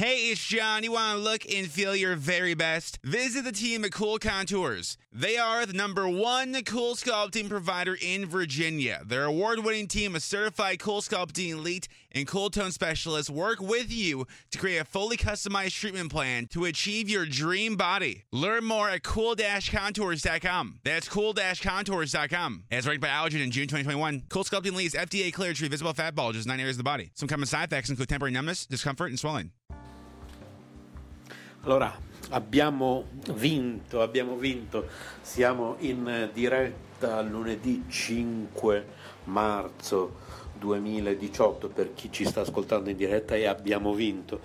Hey, it's John. You want to look and feel your very best? Visit the team at Cool Contours. They are the #1 cool sculpting provider in Virginia. Their award-winning team of certified cool sculpting elite and cool tone specialists work with you to create a fully customized treatment plan to achieve your dream body. Learn more at cool-contours.com. That's cool-contours.com. As ranked by Allergen in June 2021, Cool Sculpting Elite is FDA cleared to treat visible fat bulges in 9 areas of the body. Some common side effects include temporary numbness, discomfort, and swelling. Allora, abbiamo vinto, siamo in diretta lunedì 5 marzo 2018 per chi ci sta ascoltando in diretta e abbiamo vinto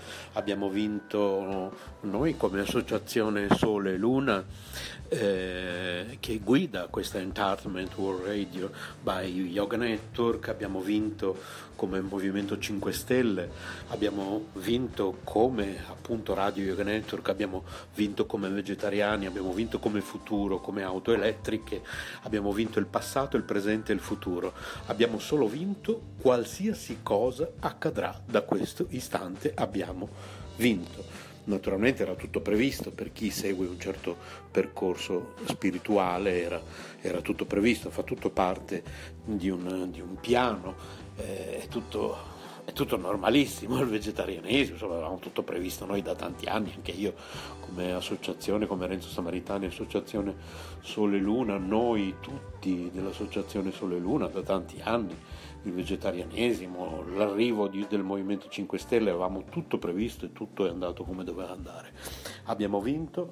noi come associazione Sole e Luna che guida questa Entertainment World Radio by Yoga Network, abbiamo vinto come Movimento 5 Stelle, abbiamo vinto come appunto Radio Yoga Network, abbiamo vinto come vegetariani, abbiamo vinto come futuro, come auto elettriche, abbiamo vinto il passato, il presente e il futuro, abbiamo solo vinto. Qualsiasi cosa accadrà da questo istante abbiamo vinto. Naturalmente era tutto previsto, per chi segue un certo percorso spirituale era tutto previsto, fa tutto parte di un piano, è tutto normalissimo, il vegetarianesimo, insomma avevamo tutto previsto noi da tanti anni, anche io come associazione, come Renzo Samaritani, associazione Sole e Luna, noi tutti dell'associazione Sole e Luna da tanti anni, il vegetarianesimo, l'arrivo del Movimento 5 Stelle, avevamo tutto previsto e tutto è andato come doveva andare. Abbiamo vinto.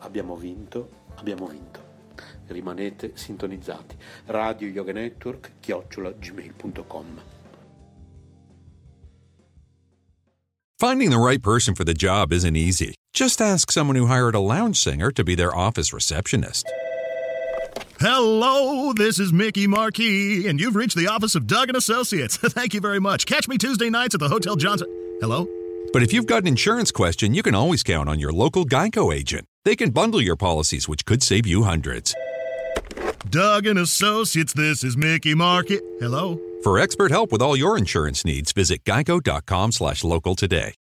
Rimanete sintonizzati. Radio Yoga Network @gmail.com. Finding the right person for the job isn't easy. Just ask someone who hired a lounge singer to be their office receptionist. Hello, this is Mickey Marquis, and you've reached the office of Doug & Associates. Thank you very much. Catch me Tuesday nights at the Hotel Johnson. Hello? But if you've got an insurance question, you can always count on your local Geico agent. They can bundle your policies, which could save you hundreds. Doug & Associates, this is Mickey Marquis. Hello? For expert help with all your insurance needs, visit geico.com/local today.